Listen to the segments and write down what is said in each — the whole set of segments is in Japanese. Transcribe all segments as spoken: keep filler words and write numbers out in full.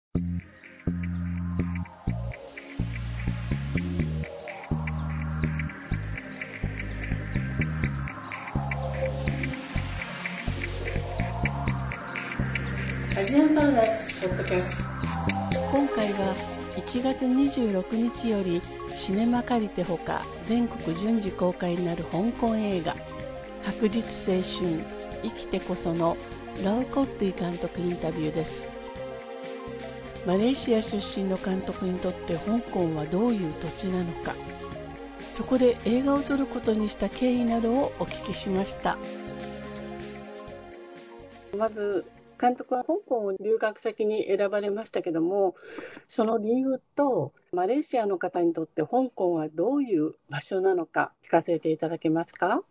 アジアンパラダイスポッドキャスト。今回はいちがつにじゅうろくにちよりシネマ借りてほか全国順次公開になる香港映画白日青春生きてこそのラオ・コッリー監督インタビューです。マレーシア出身の監督にとって香港はどういう土地なのか、そこで映画を撮ることにした経緯などをお聞きしました。まず監督は香港を留学先に選ばれましたけども、その理由とマレーシアの方にとって香港はどういう場所なのか聞かせていただけますか？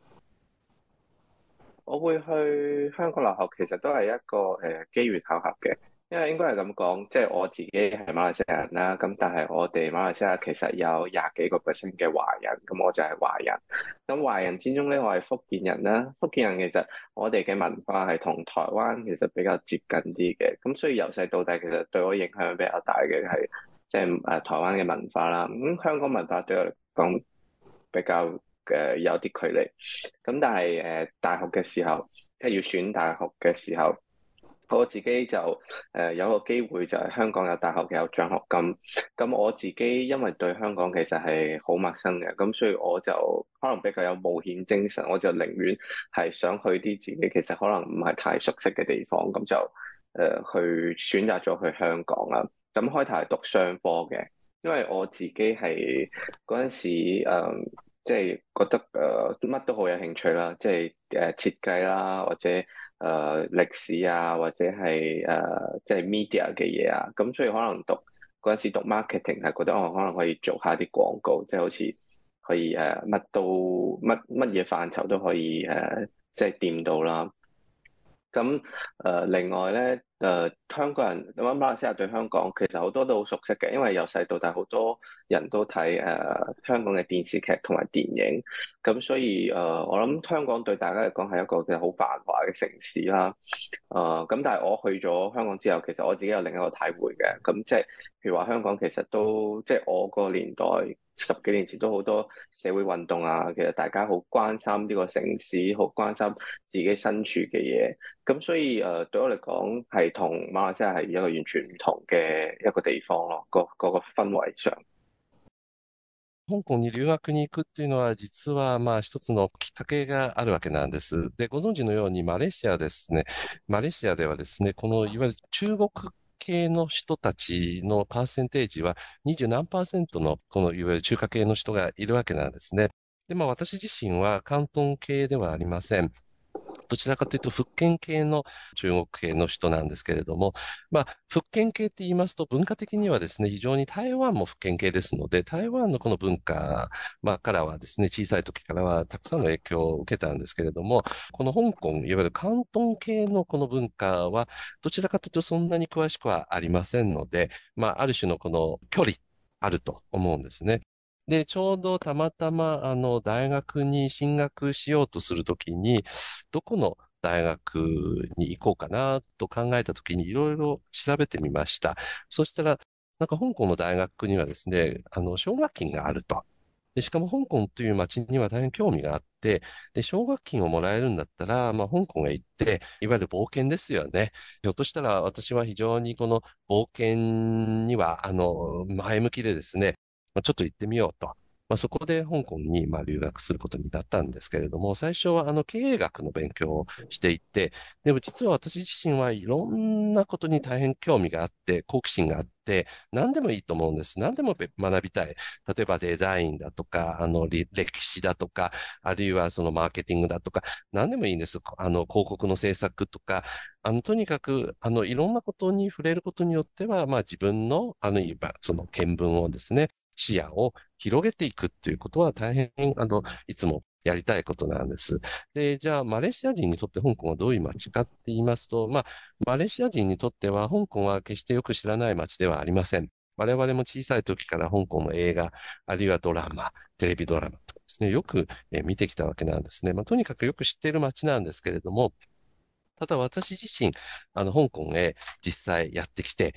我會去香港留學，其實都係一個誒機緣巧合嘅，因為應該係咁講，即係我自己係馬來西亞人啦，咁但係我哋馬來西亞其實有廿幾個 percent 嘅華人，咁我就係華人。咁華人之中咧，我係福建人啦。福建人其實我哋嘅文化係同台灣其實比較接近啲嘅，咁所以由細到大其實對我影響比較大嘅係即係誒台灣嘅文化啦。咁香港文化對我嚟講比較誒有啲距離，咁但係誒、呃、大學嘅時候，即係要選大學嘅時候，我自己就誒、呃、有個機會就係香港有大學嘅有獎學金，咁我自己因為對香港其實係好陌生嘅，咁所以我就可能比較有冒險精神，我就寧願係想去啲自己其實可能唔係太熟悉嘅地方，咁就誒、呃、去選擇咗去香港啦。咁開頭係讀商科嘅，因為我自己係嗰陣時誒。呃即係覺得誒乜、呃、都好有興趣啦，即係誒設計啦，或者誒、呃、歷史啊，或者係誒、呃、即係 media 嘅嘢啊，咁所以可能讀嗰陣時讀 marketing 係覺得我、哦、可能可以做下啲廣告，即係好似可以誒乜、呃、都乜乜嘢範疇都可以誒、呃、即係掂到啦。咁誒、呃、另外咧誒、呃、香港人咁馬來西亞對香港其實好多都好熟悉嘅，因為由細到大好多人都睇誒、呃、香港嘅電視劇同埋電影，咁所以誒、呃、我諗香港對大家嚟講係一個嘅好繁華嘅城市啦。誒、呃、咁但係我去咗香港之後，其實我自己有另一個體會嘅，咁即係譬如話香港其實都即係我個年代。十幾年前都好多社會運動啊，其實大家好關心呢個城市，好關心自己身處嘅嘢，咁所以誒、呃、對我嚟講係同馬來西亞係一個完全唔同嘅一個地方咯，個個個氛圍上。 香港に留学に行くっていうのは実はまあ一つのきっかけがあるわけなんです。で、ご存知のようにマレーシアですね、マレーシアではですね、このいわゆる中国系の人たちのパーセンテージはにじゅう何パーセントのこのいわゆる中華系の人がいるわけなんですね。で、まあ私自身は広東系ではありません。どちらかというと福建系の中国系の人なんですけれども、まあ、福建系って言いますと文化的にはですね、非常に台湾も福建系ですので、台湾のこの文化、まあ、からはですね、小さい時からはたくさんの影響を受けたんですけれども、この香港、いわゆる広東系のこの文化は、どちらかというとそんなに詳しくはありませんので、まあ、ある種のこの距離あると思うんですね。で、ちょうどたまたま、あの、大学に進学しようとするときに、どこの大学に行こうかなと考えたときにいろいろ調べてみました。そしたら、なんか香港の大学にはですね、あの、奨学金があると。で、しかも香港という街には大変興味があって、で、奨学金をもらえるんだったら、まあ、香港へ行って、いわゆる冒険ですよね。ひょっとしたら私は非常にこの冒険には、あの、前向きでですね、まあちょっと行ってみようと。まあ、そこで香港にまあ留学することになったんですけれども、最初はあの経営学の勉強をしていて、でも実は私自身はいろんなことに大変興味があって、好奇心があって、何でもいいと思うんです。何でも学びたい。例えばデザインだとか、あの歴史だとか、あるいはそのマーケティングだとか、何でもいいんです。あの広告の制作とか、あのとにかくあのいろんなことに触れることによっては、まあ自分のあのその見聞をですね、視野を広げていくっていうことは大変、あの、いつもやりたいことなんです。で、じゃあ、マレーシア人にとって香港はどういう街かって言いますと、まあ、マレーシア人にとっては香港は決してよく知らない街ではありません。我々も小さい時から香港の映画、あるいはドラマ、テレビドラマとかですね、よく見てきたわけなんですね。まあ、とにかくよく知っている街なんですけれども、ただ私自身、あの、香港へ実際やってきて、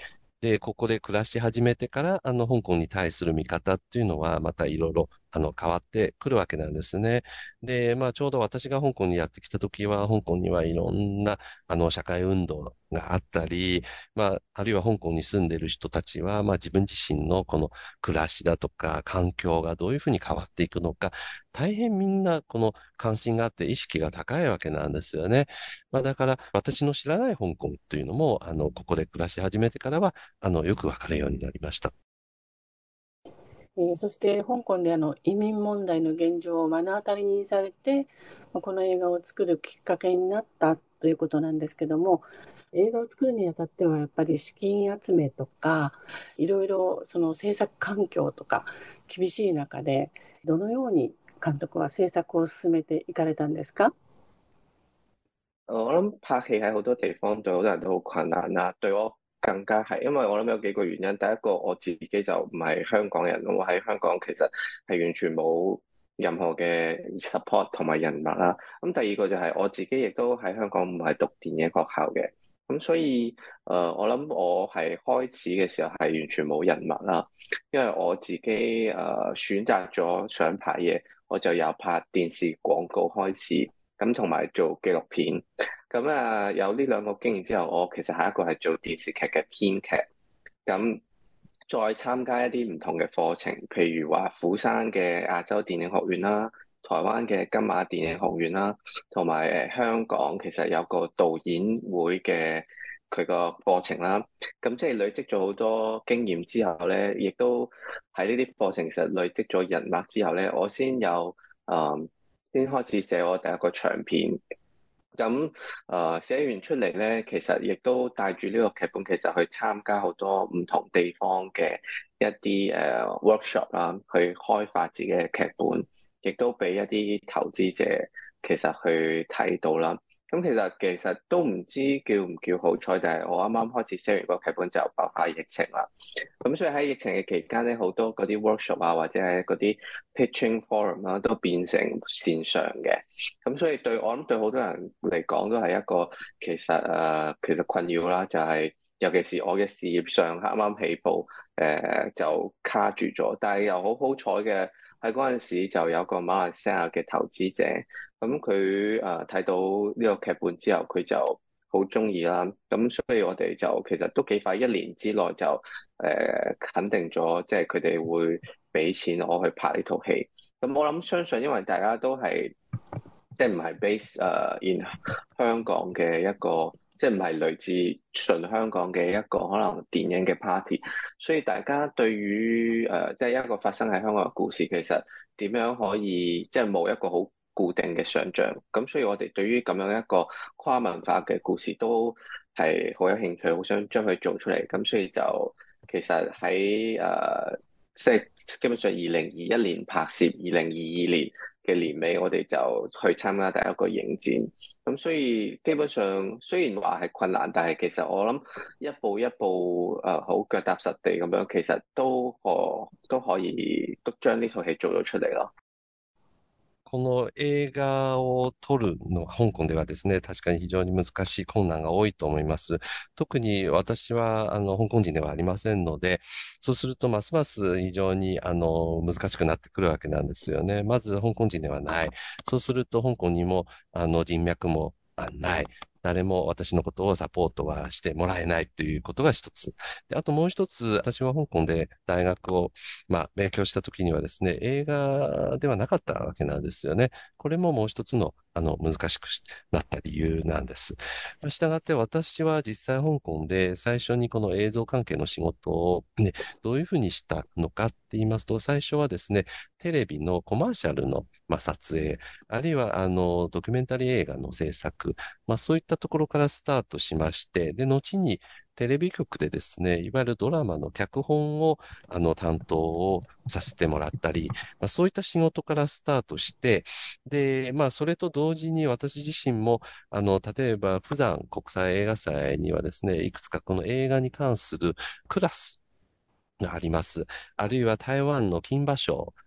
で、ここで暮らし始めてから、あの、香港に対する見方っていうのは、またいろいろ、あの、変わってくるわけなんですね。で、まあ、ちょうど私が香港にやってきた時は、香港にはいろんな、あの、社会運動があったり、まあ、あるいは香港に住んでいる人たちは、まあ、自分自身のこの暮らしだとか、環境がどういうふうに変わっていくのか、大変みんな、この関心があって意識が高いわけなんですよね。まあ、だから、私の知らない香港というのも、あの、ここで暮らし始めてからは、あの、よくわかるようになりました。 えーそして香港であの移民問題の現状を目の当たりにされて、まあこの映画を作るきっかけになったということなんですけども、映画を作るにあたってはやっぱり資金集めとか、いろいろその制作環境とか厳しい中で、どのように監督は制作を進めていかれたんですか？ 我諗拍戲喺好多地方對好多人都好困難啦，對我更加係，因為我諗有幾個原因。第一個我自己就唔係香港人，我喺香港其實係完全冇任何嘅 support 同埋人脈啦。咁第二個就係我自己亦都喺香港唔係讀電影學校嘅，咁所以誒、呃、我諗我係開始嘅時候係完全冇人脈啦，因為我自己誒、呃、選擇咗想拍嘢，我就由拍電視廣告開始。咁同埋做紀錄片，咁啊有呢兩個經驗之後，我其實下一個係做電視劇嘅編劇，咁再參加一啲唔同嘅課程，譬如話釜山嘅亞洲電影學院啦，台灣嘅金馬電影學院啦，同埋誒香港其實有個導演會嘅佢個課程啦，咁即係累積咗好多經驗之後咧，亦都喺呢啲課程其實累積咗人脈之後咧，我先有誒。嗯先開始寫我第一個長片，咁誒、呃、寫完出嚟咧，其實亦都帶住呢個劇本，其實去參加好多唔同地方嘅一啲誒、呃、workshop 啦，去開發自己嘅劇本，亦都俾一啲投資者其實去睇到啦。咁其實其實都唔知叫唔叫好彩，但係我啱啱開始寫完個劇本就爆發疫情啦。咁所以喺疫情嘅期間咧，好多嗰啲 workshop 啊，或者係嗰啲 pitching forum 啦，都變成線上嘅。咁所以對我諗對好多人嚟講都係一個其實誒、呃、其實困擾啦，就係、是、尤其是我嘅事業上啱啱起步，誒、呃、就卡住咗。但係又好好彩嘅喺嗰陣時就有個馬來西亞嘅投資者，咁佢誒睇到呢個劇本之後，佢就好中意啦，咁所以我哋就其實都幾快，一年之內就誒、呃、肯定咗，即係佢哋會俾錢我去拍呢套戲。咁我諗相信，因為大家都係即係唔係 base 誒 in 香港嘅一個，即係唔係來自純香港嘅一個可能電影嘅 party，所以大家對於誒即係一個發生喺香港嘅故事，其實點樣可以即係冇一個好固定嘅想像，咁所以我哋對於咁樣一個跨文化嘅故事都係好有興趣，好想將佢做出嚟。咁所以就其實喺誒、呃、即係基本上二零二一年拍攝，二零二二年嘅年尾我哋就去參加第一個影展。咁所以基本上雖然話係困難，但係其實我諗一步一步誒好腳踏實地咁樣，其實都可都可以都將呢套戲做咗出嚟咯。 この映画を撮るのは、香港ではですね、確かに非常に難しい困難が多いと思います。特に私は、あの、香港人ではありませんので、そうすると、ますます非常に、あの、難しくなってくるわけなんですよね。まず、香港人ではない。そうすると、香港にも、あの、人脈もあない。誰も私のことをサポートはしてもらえないということが一つ。で、あともう一つ、私は香港で大学を、まあ、勉強した時にはですね、映画ではなかったわけなんですよね。これももう一つの、あの、難しくなった理由なんです。したがって私は実際香港で最初にこの映像関係の仕事を、ね、どういうふうにしたのかって言いますと、最初はですね、テレビのコマーシャルの、まあ、撮影、あるいはあのドキュメンタリー映画の制作、まあ、そういったところからスタートしまして、で、後にテレビ局でですね、いわゆるドラマの脚本をあの担当をさせてもらったり、まあ、そういった仕事からスタートして、で、まあ、それと同時に私自身も、あの、例えば、釜山国際映画祭にはですね、いくつかこの映画に関するクラスがあります。あるいは台湾の金馬賞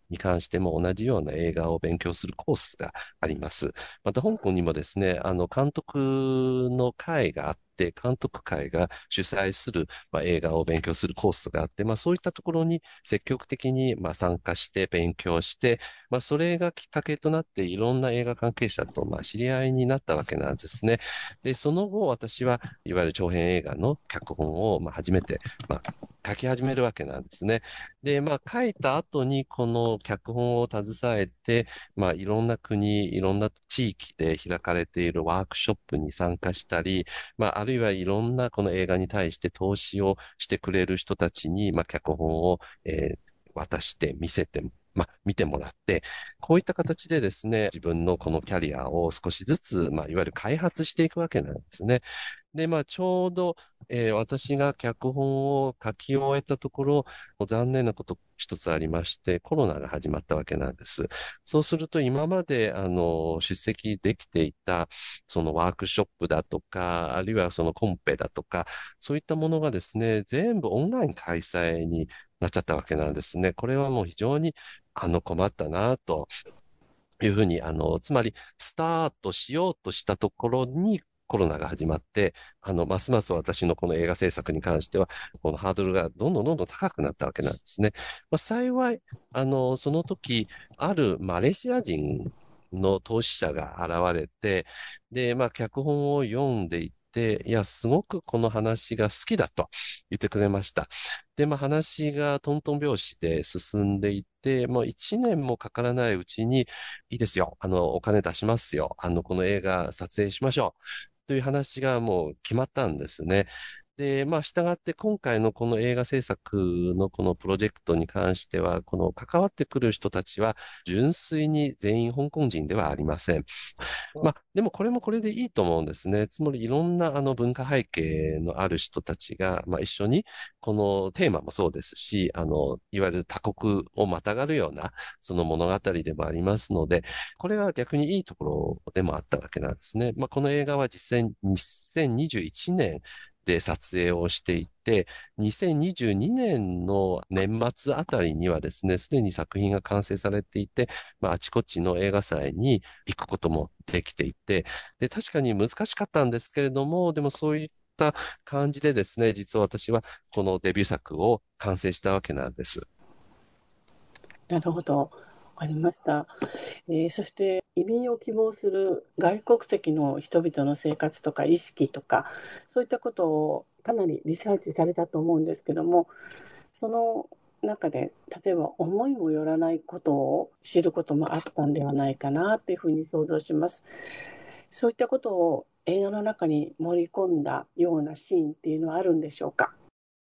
に関しても同じような映画を勉強するコースがあります。また香港にもですね、あの監督の会があって、監督会が主催する、まあ、映画を勉強するコースがあって、まあ、そういったところに積極的に、まあ、参加して勉強して、まあ、それがきっかけとなっていろんな映画関係者と、まあ、知り合いになったわけなんですね。で、その後私はいわゆる長編映画の脚本を、まあ、初めて、まあ、書き始めるわけなんですね。で、まあ、書いた後にこの脚本を携えて、まあ、いろんな国、いろんな地域で開かれているワークショップに参加したり、まあ、あるいはいろんなこの映画に対して投資をしてくれる人たちに、まあ、脚本を、えー渡して見せて、まあ、見てもらって、こういった形でですね、自分のこのキャリアを少しずつ、まあ、いわゆる開発していくわけなんですね。で、まあ、ちょうど、えー私が脚本を書き終えたところ、残念なこと一つありまして、コロナが始まったわけなんです。そうすると、今まで、あの、出席できていた、そのワークショップだとか、あるいはそのコンペだとか、そういったものがですね、全部オンライン開催になっちゃったわけなんですね。これはもう非常に、あの、困ったなというふうに、あの、つまり、スタートしようとしたところにコロナが始まって、あの、ますます私のこの映画制作に関しては、このハードルがどんどんどんどん高くなったわけなんですね。まあ、幸い、あの、その時、あるマレーシア人の投資者が現れて、で、まあ、脚本を読んでいて、いや、すごくこの話が好きだと言ってくれました。で、まあ、話がトントン拍子で進んでいって、もう一年もかからないうちに、いいですよ。あの、お金出しますよ。あの、この映画撮影しましょう。という話がもう決まったんですね。で、まあ、従って今回のこの映画制作のこのプロジェクトに関しては、この関わってくる人たちは、純粋に全員香港人ではありません。まあ、でもこれもこれでいいと思うんですね。つまりいろんなあの文化背景のある人たちが、まあ、一緒にこのテーマもそうですし、あの、いわゆる他国をまたがるようなその物語でもありますので、これが逆にいいところでもあったわけなんですね。まあ、この映画は実際ににせんにじゅういちねんで撮影をしていて、にせんにじゅうにねんの年末あたりにはですね、すでに作品が完成されていて、まあ、あちこちの映画祭に行くこともできていて、で、確かに難しかったんですけれども、でもそういった感じでですね、実は私はこのデビュー作を完成したわけなんです。 なるほど。わかりました。えーそして移民を希望する外国籍の人々の生活とか意識とか、そういったことをかなりリサーチされたと思うんですけども、その中で例えば思いもよらないことを知ることもあったんではないかなっていうふうに想像します。そういったことを映画の中に盛り込んだようなシーンっていうのはあるんでしょうか？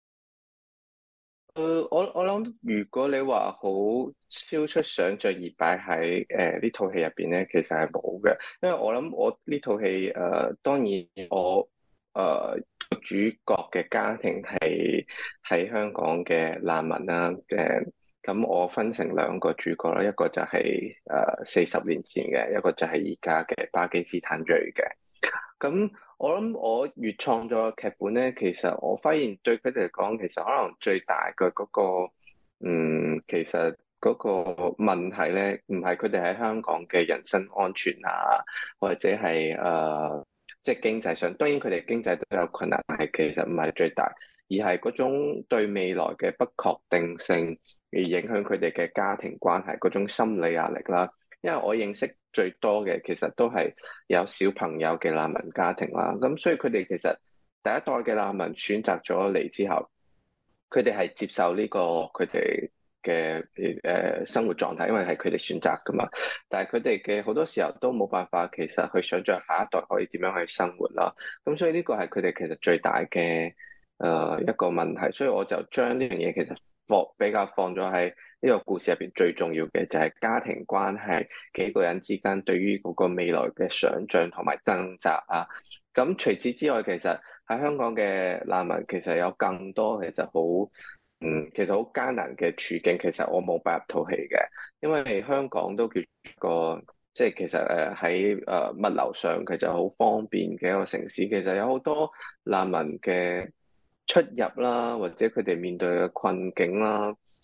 誒，我我諗，如果你話好超出想像而擺喺誒呢套戲入邊咧，其實係冇嘅，因為我諗我呢套戲誒、呃，當然我誒、呃、主角嘅家庭係喺香港嘅難民啦，誒、咁我分成兩個主角啦，一個就係誒四十年前嘅，一個就係而家嘅巴基斯坦裔嘅。咁我諗我越創作嘅劇本咧，其實我發現對佢哋嚟講，其實可能最大嘅嗰個，嗯，其實嗰個問題咧，唔係佢哋喺香港嘅人身安全啊，或者係誒、呃即係經濟上，當然佢哋經濟都有困難，但係其實唔係最大，而係嗰種對未來嘅不確定性，而影響佢哋嘅家庭關係嗰種心理壓力啦。因為我認識最多嘅其實都係有小朋友嘅難民家庭啦，咁所以佢哋其實第一代嘅難民選擇咗嚟之後，佢哋係接受呢個佢哋嘅誒生活狀態，因為係佢哋選擇噶嘛。但係佢哋嘅好多時候都冇辦法，其實去想像下一代可以點樣去生活啦。咁所以呢個係佢哋其實最大嘅誒、呃、一個問題，所以我就將呢樣嘢其實放比較放咗喺呢個故事入邊最重要嘅就係家庭關係，幾個人之間對於嗰個未來嘅想像同埋掙扎啊。咁除此之外，其實喺香港嘅難民其實有更多其實好嗯，其實好艱難嘅處境，其實我冇擺入套戲嘅，因為香港都叫個即係其實誒喺誒物流上其實好方便嘅一個城市，其實有好多難民嘅出入啦，或者佢哋面對嘅困境啦。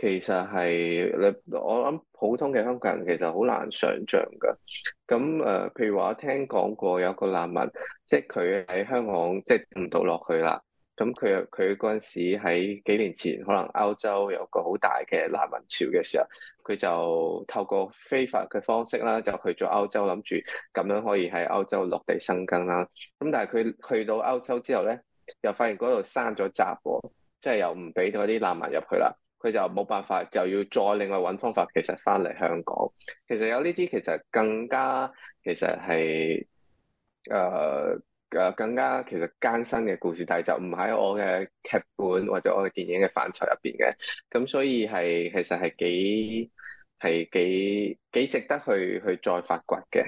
其實係你我諗普通嘅香港人其實好難想像㗎。咁誒、呃，譬如話我聽講過有個難民，即係佢喺香港即係唔到落去啦。咁佢佢嗰陣時喺幾年前，可能歐洲有個好大嘅難民潮嘅時候，佢就透過非法嘅方式啦，就去咗歐洲，諗住咁樣可以喺歐洲落地生根啦。咁但係佢去到歐洲之後咧，又發現嗰度閂咗閘喎，即係又唔俾嗰啲難民入去啦。佢就冇辦法，就要再另外揾方法，其實翻嚟香港。其實有呢啲其實更加其實係誒誒更加其實艱辛嘅故事，但係就唔喺我嘅劇本或者我嘅電影嘅範疇入邊嘅。咁所以係其實係幾係幾幾值得去去再發掘嘅。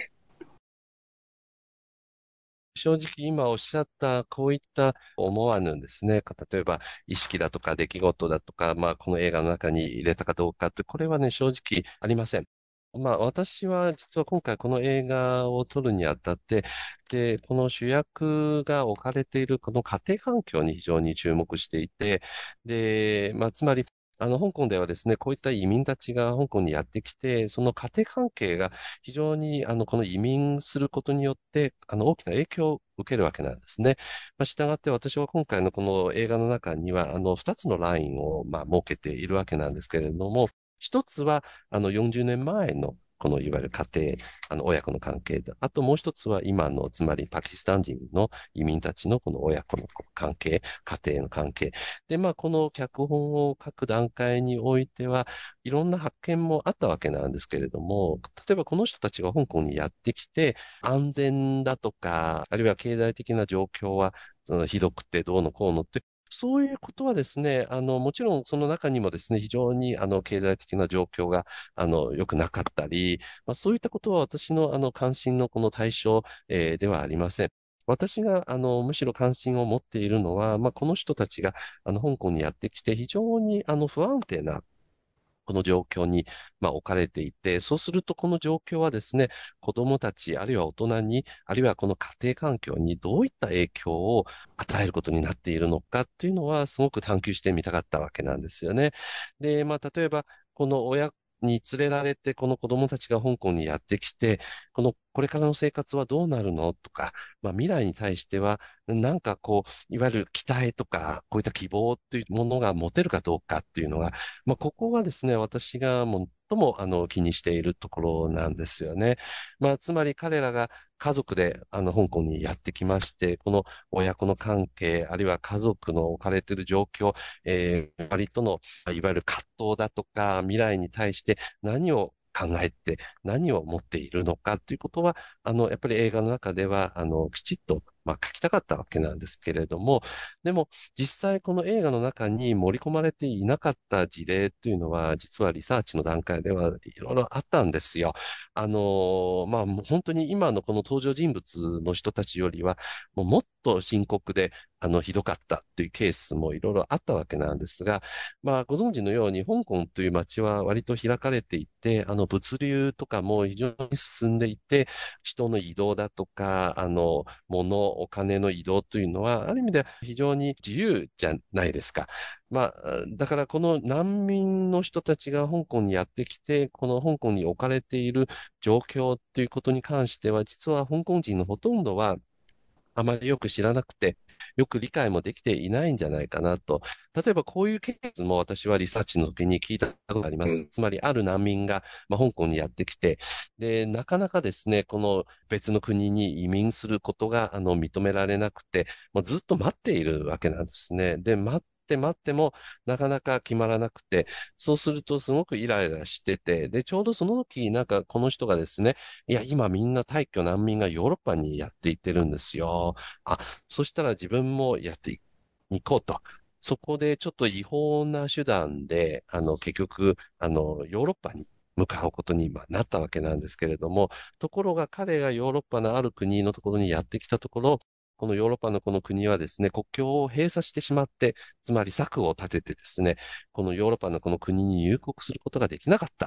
正直今おっしゃったこういった思わぬですね、例えば意識だとか出来事だとか、まあこの映画の中に入れたかどうかって、これはね、正直ありません。まあ私は実は今回この映画を撮るにあたって、で、この主役が置かれているこの家庭環境に非常に注目していて、で、まあつまりあの、香港ではですね、こういった移民たちが香港にやってきて、その家庭関係が非常に、あの、この移民することによって、あの、大きな影響を受けるわけなんですね。まあ、したがって私は今回のこの映画の中には、あの、二つのラインを、まあ、設けているわけなんですけれども、一つは、あの、よんじゅうねんまえの、このいわゆる家庭、あの親子の関係で、あともう一つは今の、つまりパキスタン人の移民たちのこの親子の関係、家庭の関係。で、まあ、この脚本を書く段階においては、いろんな発見もあったわけなんですけれども、例えばこの人たちが香港にやってきて、安全だとか、あるいは経済的な状況は、そのひどくてどうのこうのって、そういうことはですね、あの、もちろんその中にもですね、非常にあの経済的な状況があの良くなかったり、まあ、そういったことは私のあの関心のこの対象、えーではありません。私が、あの、むしろ関心を持っているのは、まあ、この人たちが、あの、香港にやってきて、非常に、あの、不安定な、この状況に、まあ、置かれていて、そうすると、この状況はですね、子供たち、あるいは大人に、あるいはこの家庭環境にどういった影響を与えることになっているのかっていうのは、すごく探求してみたかったわけなんですよね。で、まあ、例えば、この親に連れられて、この子供たちが香港にやってきて、この、これからの生活はどうなるのとか、まあ、未来に対しては、なんかこう、いわゆる期待とか、こういった希望というものが持てるかどうかっていうのが、まあ、ここがですね、私が最もあの気にしているところなんですよね。まあ、つまり彼らが家族であの香港にやってきまして、この親子の関係、あるいは家族の置かれている状況、えー、割との、いわゆる葛藤だとか、未来に対して何を考えて何を持っているのかということは、あの、やっぱり映画の中では、あの、きちっと、まあ、書きたかったわけなんですけれども、でも、実際この映画の中に盛り込まれていなかった事例というのは、実はリサーチの段階ではいろいろあったんですよ。あの、まあ、もう本当に今のこの登場人物の人たちよりは、もうもっと深刻で、あの、ひどかったっていうケースもいろいろあったわけなんですが、まあ、ご存知のように、香港という街は割と開かれていて、あの、物流とかも非常に進んでいて、人の移動だとか、あの、物、お金の移動というのは、ある意味では非常に自由じゃないですか。まあ、だからこの難民の人たちが香港にやってきて、この香港に置かれている状況ということに関しては、実は香港人のほとんどは、あまりよく知らなくて、よく理解もできていないんじゃないかなと。例えばこういうケースも私はリサーチの時に聞いたことがあります。 うん。 つまりある難民が、まあ、香港にやってきて、で、なかなかですね、この別の国に移民することがあの認められなくて、もうずっと待っているわけなんですね。で、待って待ってもなかなか決まらなくて、そうするとすごくイライラしてて、で、ちょうどその時、なんかこの人がですね、いや、今みんな退去難民がヨーロッパにやっていってるんですよ。あ、そしたら自分もやっていこうと。そこでちょっと違法な手段で、あの、結局、あの、ヨーロッパに向かうことにまあなったわけなんですけれども、ところが彼がヨーロッパのある国のところにやってきたところ、このヨーロッパのこの国はですね、国境を閉鎖してしまって、つまり策を立ててですね、このヨーロッパのこの国に入国することができなかった。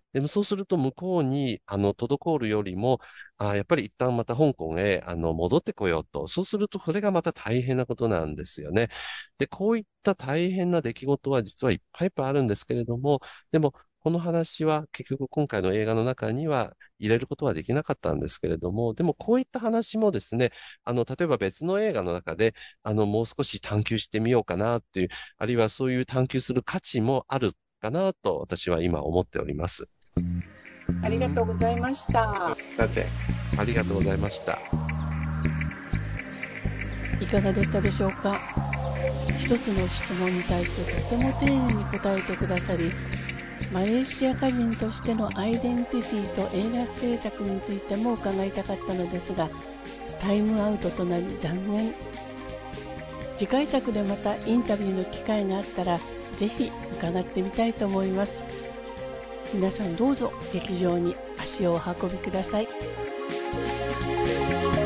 でもそうすると向こうに、あの、滞るよりも、あ、やっぱり一旦また香港へ、あの、戻ってこようと。そうすると、それがまた大変なことなんですよね。で、こういった大変な出来事は実はいっぱいいっぱいあるんですけれども、でも、この話は結局今回の映画の中には入れることはできなかったんですけれども、でもこういった話もですね、あの、例えば別の映画の中で、あの、もう少し探求してみようかなっていう、あるいはそういう探求する価値もあるかなと私は今思っております。 ありがとうございました。 多謝。 ありがとうございました。 いかがでしたでしょうか。一つの質問に対してとても丁寧に答えてくださり、マレーシア歌人としてのアイデンティティと映画制作についても伺いたかったのですが、タイムアウトとなり残念。次回作でまたインタビューの機会があったらぜひ伺ってみたいと思います。皆さんどうぞ劇場に足をお運びください。